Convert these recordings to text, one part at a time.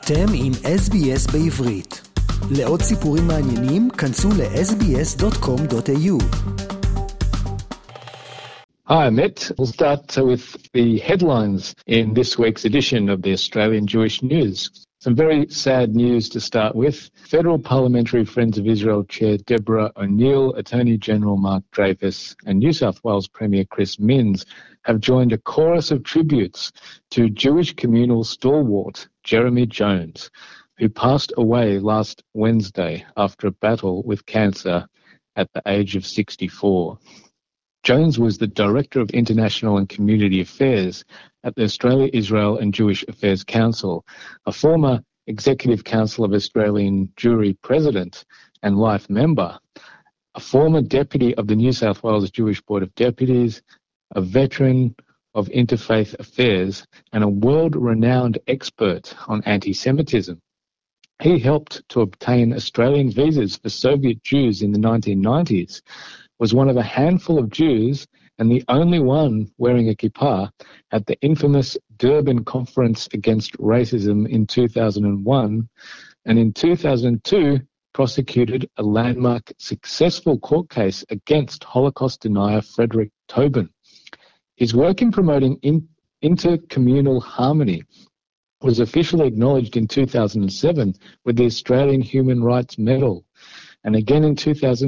אתם עם SBS בעברית. לעוד סיפורים מעניינים, כנסו ל-sbs.com.au. Hi, Amit. We'll start with the headlines in this week's edition of the Australian Jewish News. Some very sad news to start with. Federal Parliamentary Friends of Israel Chair Deborah O'Neill, Attorney General Mark Dreyfus and New South Wales Premier Chris Minns have joined a chorus of tributes to Jewish communal stalwart Jeremy Jones, who passed away last Wednesday after a battle with cancer at the age of 64. Jones was the Director of International and Community Affairs at the Australia, Israel and Jewish Affairs Council, a former Executive Council of Australian Jewry President and life member, a former Deputy of the New South Wales Jewish Board of Deputies, a veteran of interfaith affairs and a world-renowned expert on anti-Semitism. He helped to obtain Australian visas for Soviet Jews in the 1990s, was one of a handful of Jews and the only one wearing a kippah at the infamous Durban Conference Against Racism in 2001, and in 2002 prosecuted a landmark successful court case against Holocaust denier Frederick Tobin. His work in promoting intercommunal harmony was officially acknowledged in 2007 with the Australian Human Rights Medal, and again in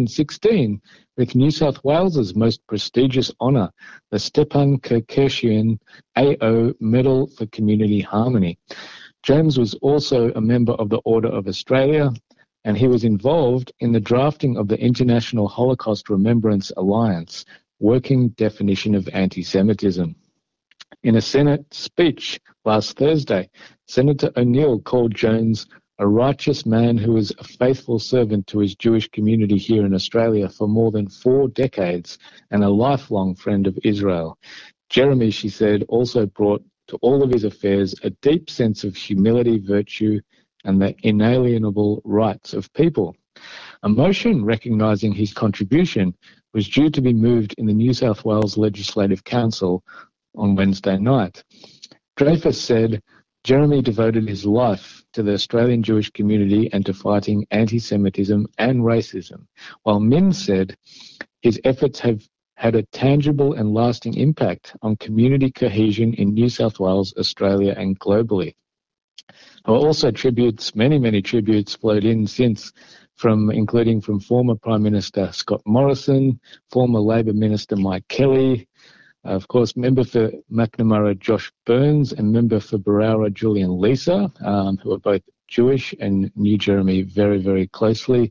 2016 with New South Wales's most prestigious honour, the Stepan Kerkeshian AO Medal for Community Harmony. Jones was also a member of the Order of Australia, and he was involved in the drafting of the International Holocaust Remembrance Alliance working definition of anti-Semitism. In a Senate speech last Thursday, Senator O'Neill called Jones a righteous man who was a faithful servant to his Jewish community here in Australia for more than 4 decades and a lifelong friend of Israel. Jeremy, she said, also brought to all of his affairs a deep sense of humility, virtue, and the inalienable rights of people. A motion recognising his contribution was due to be moved in the New South Wales Legislative Council on Wednesday night. Dreyfus said Jeremy devoted his life to the Australian Jewish community and to fighting anti-Semitism and racism, while Minns said his efforts have had a tangible and lasting impact on community cohesion in New South Wales, Australia and globally. There were also tributes, many tributes flowed in since, including from former Prime Minister Scott Morrison, former Labor Minister Mike Kelly, of course, member for Macnamara Josh Burns and member for Berowra Julian Lisa, who are both Jewish and knew Jeremy very, very closely.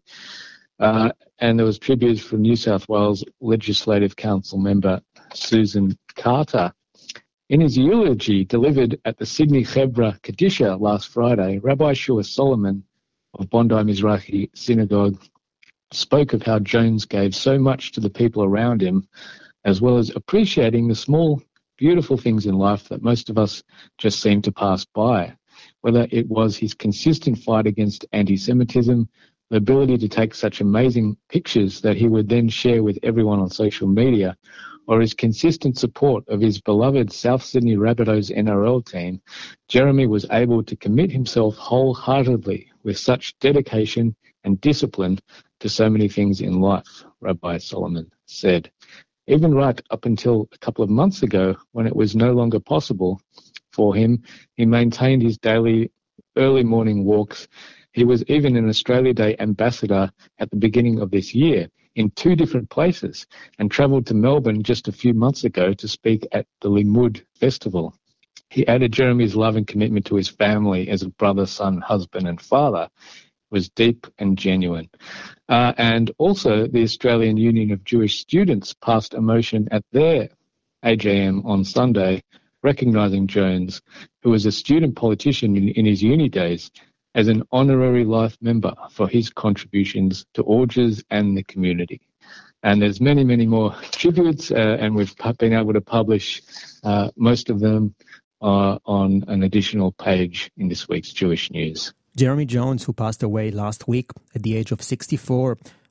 And there was tributes from New South Wales Legislative Council member Susan Carter. In his eulogy delivered at the Sydney Chevra Kadisha last Friday, Rabbi Shua Solomon of Bondi Mizrahi Synagogue spoke of how Jones gave so much to the people around him, as well as appreciating the small, beautiful things in life that most of us just seem to pass by, whether it was his consistent fight against anti-Semitism, the ability to take such amazing pictures that he would then share with everyone on social media, or his consistent support of his beloved South Sydney Rabbitohs NRL team. Jeremy was able to commit himself wholeheartedly with such dedication and discipline to so many things in life, Rabbi Solomon said. Even right up until a couple of months ago, when it was no longer possible for him, he maintained his daily early morning walks. He was even an Australia Day ambassador at the beginning of this year in 2 different places and travelled to Melbourne just a few months ago to speak at the Limud Festival. He added Jeremy's love and commitment to his family as a brother, son, husband and father was deep and genuine. And also the Australian Union of Jewish Students passed a motion at their AGM on Sunday recognising Jones, who was a student politician in his uni days, as an honorary life member for his contributions to Orges and the community. And there's many more tributes, and we've been able to publish most of them on an additional page in this week's Jewish News. Jeremy Jones, who passed away last week at the age of 64,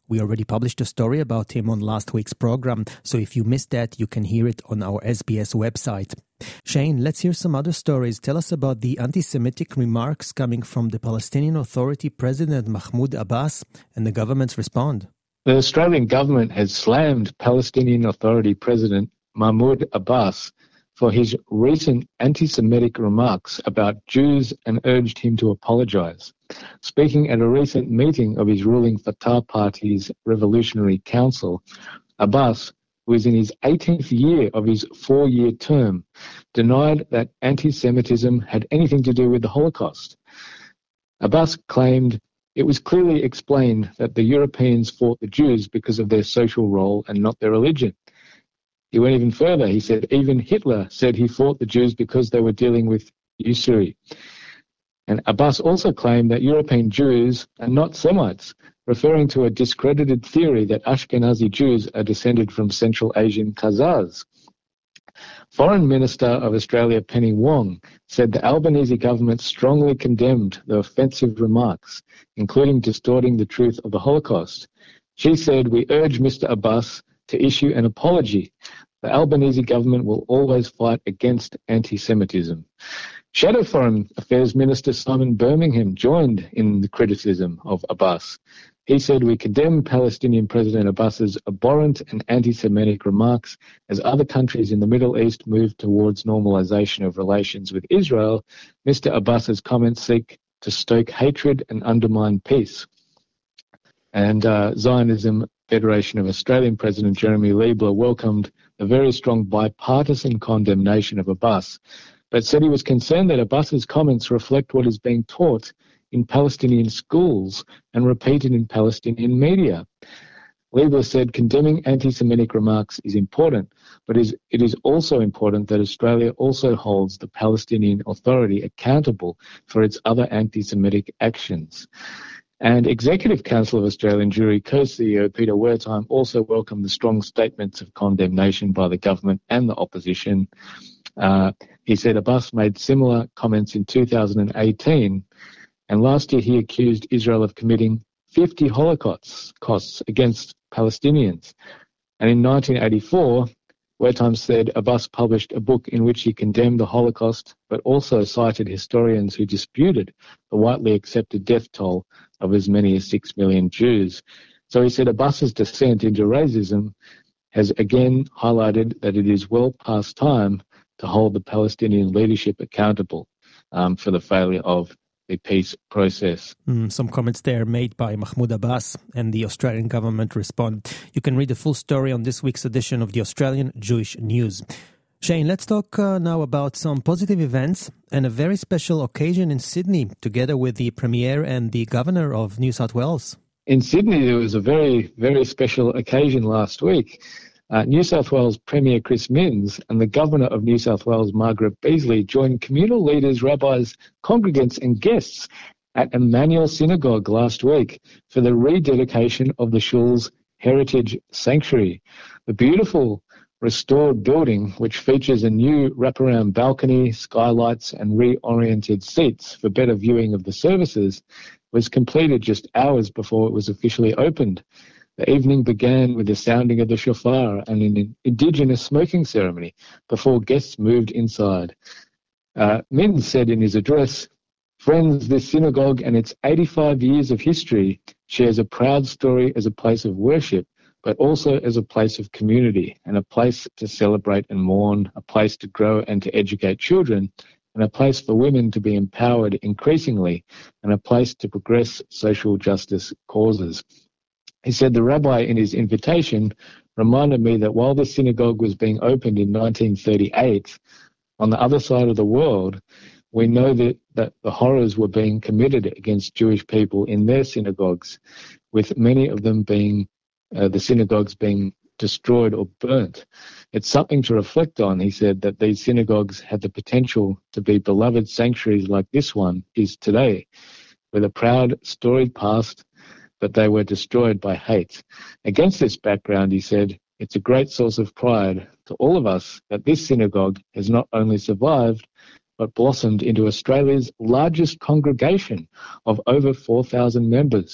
We already published a story about him on last week's program, so if you missed that, you can hear it on our SBS website. Shane, let's hear some other stories. Tell us about the anti-Semitic remarks coming from the Palestinian Authority President Mahmoud Abbas and the government's response. The Australian government has slammed Palestinian Authority President Mahmoud Abbas for his recent anti-Semitic remarks about Jews and urged him to apologise. Speaking at a recent meeting of his ruling Fatah Party's Revolutionary Council, Abbas, who is in his 18th year of his 4-year term, denied that anti-Semitism had anything to do with the Holocaust. Abbas claimed it was clearly explained that the Europeans fought the Jews because of their social role and not their religion. He went even further. He said even Hitler said he fought the Jews because they were dealing with usury. And Abbas also claimed that European Jews are not Semites, referring to a discredited theory that Ashkenazi Jews are descended from Central Asian Khazars. Foreign Minister of Australia Penny Wong said the Albanese government strongly condemned the offensive remarks, including distorting the truth of the Holocaust. She said, "We urge Mr. Abbas to issue an apology. The Albanese government will always fight against anti-Semitism." Shadow Foreign Affairs Minister Simon Birmingham joined in the criticism of Abbas. He said, "We condemn Palestinian President Abbas's abhorrent and anti-Semitic remarks as other countries in the Middle East move towards normalization of relations with Israel. Mr. Abbas's comments seek to stoke hatred and undermine peace." And Zionism Federation of Australian President Jeremy Liebler welcomed a very strong bipartisan condemnation of Abbas, but said he was concerned that Abbas's comments reflect what is being taught in Palestinian schools and repeated in Palestinian media. Liebler said condemning anti-Semitic remarks is important, but it is also important that Australia also holds the Palestinian Authority accountable for its other anti-Semitic actions. And Executive Council of Australian Jewry co-CEO Peter Wertheim also welcomed the strong statements of condemnation by the government and the opposition. He said Abbas made similar comments in 2018, and last year he accused Israel of committing 50 holocausts against Palestinians. And in 1984, Wertheim said Abbas published a book in which he condemned the Holocaust, but also cited historians who disputed the widely accepted death toll of as many as 6 million Jews. So he said Abbas's descent into racism has again highlighted that it is well past time to hold the Palestinian leadership accountable for the failure of the peace process. Some comments there made by Mahmoud Abbas, and the Australian government respond. You can read the full story on this week's edition of the Australian Jewish News. Shane, let's talk now about some positive events and a very special occasion in Sydney, together with the Premier and the Governor of New South Wales. In Sydney, there was a very, very special occasion last week. New South Wales Premier Chris Minns and the Governor of New South Wales, Margaret Beasley, joined communal leaders, rabbis, congregants and guests at Emmanuel Synagogue last week for the rededication of the shul's heritage sanctuary. The beautiful restored building, which features a new wraparound balcony, skylights and reoriented seats for better viewing of the services, was completed just hours before it was officially opened. The evening began with the sounding of the shofar and an indigenous smoking ceremony before guests moved inside. Minns said in his address, "Friends, this synagogue and its 85 years of history shares a proud story as a place of worship, but also as a place of community and a place to celebrate and mourn, a place to grow and to educate children, and a place for women to be empowered increasingly, and a place to progress social justice causes." He said the rabbi in his invitation reminded me that while the synagogue was being opened in 1938, on the other side of the world, we know that the horrors were being committed against Jewish people in their synagogues, with many of them being, the synagogues being destroyed or burnt. It's something to reflect on, he said, that these synagogues had the potential to be beloved sanctuaries like this one is today, with a proud, storied past, but they were destroyed by hate. Against this background, he said, it's a great source of pride to all of us that this synagogue has not only survived, but blossomed into Australia's largest congregation of over 4,000 members.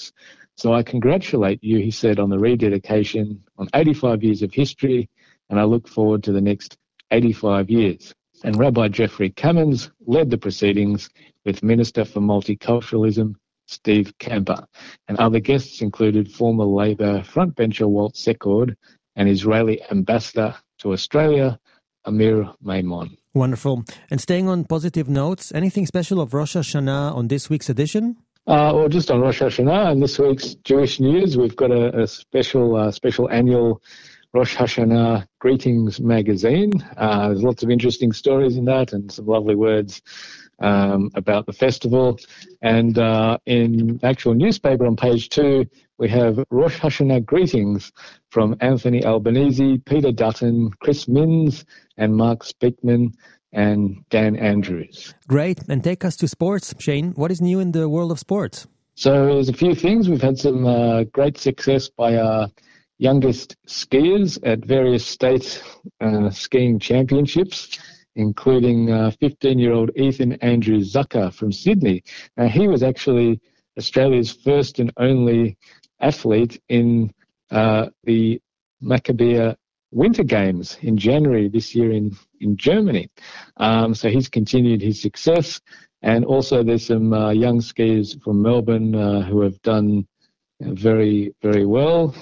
So I congratulate you, he said, on the rededication, on 85 years of history, and I look forward to the next 85 years. And Rabbi Jeffrey Cummins led the proceedings with Minister for Multiculturalism, Steve Camper. And other guests included former Labor frontbencher Walt Secord and Israeli ambassador to Australia, Amir Maimon. Wonderful. And staying on positive notes, anything special of Rosh Hashanah on this week's edition? Well, just on Rosh Hashanah and this week's Jewish News, we've got a special annual Rosh Hashanah Greetings magazine. There's lots of interesting stories in that and some lovely words about the festival. And in the actual newspaper on page 2, we have Rosh Hashanah Greetings from Anthony Albanese, Peter Dutton, Chris Minns, and Mark Speakman and Dan Andrews. Great. And take us to sports. Shane, what is new in the world of sports? So there's a few things. We've had some great success by our youngest skiers at various state skiing championships, including 15-year-old Ethan Andrew Zucker from Sydney. Now, he was actually Australia's first and only athlete in the Maccabea Winter Games in January this year in Germany. So he's continued his success. And also there's some young skiers from Melbourne who have done very, very well,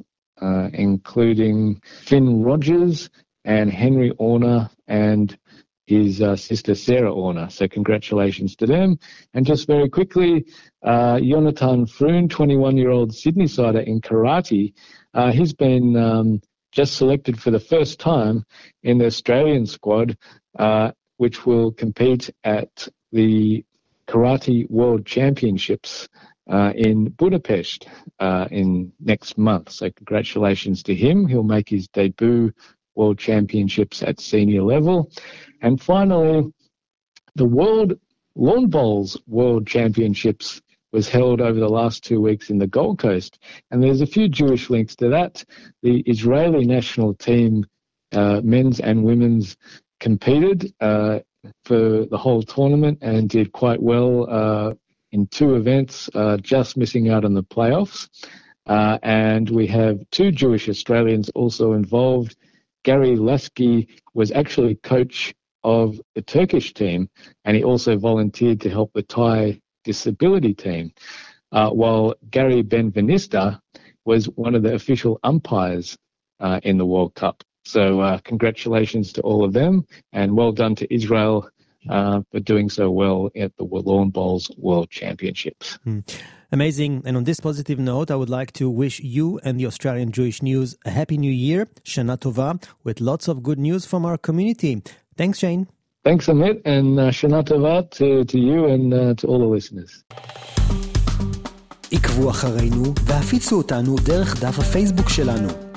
including Finn Rogers and Henry Orner and his sister Sarah Orner. So congratulations to them. And just very quickly, Jonathan Froon, 21-year-old Sydney-sider in karate, he's been just selected for the first time in the Australian squad, which will compete at the Karate World Championships in Budapest in next month. So congratulations to him. He'll make his debut World Championships at senior level. And finally, the World Lawn Bowls World Championships was held over the last 2 weeks in the Gold Coast. And there's a few Jewish links to that. The Israeli national team, men's and women's, competed for the whole tournament and did quite well in 2 events, just missing out on the playoffs. And we have 2 Jewish Australians also involved. Gary Lasky was actually coach of the Turkish team, and he also volunteered to help the Thai disability team, while Gary Benvenista was one of the official umpires in the World Cup. So congratulations to all of them, and well done to Israel for doing so well at the Lawn Bowls World Championships. Amazing. And on this positive note, I would like to wish you and the Australian Jewish News a Happy New Year, Shana Tova, with lots of good news from our community. Thanks, Shane. Thanks, Amit, and Shana Tova to you and to all the listeners. עקבו אחרינו והפיצו אותנו דרך דף הפייסבוק שלנו.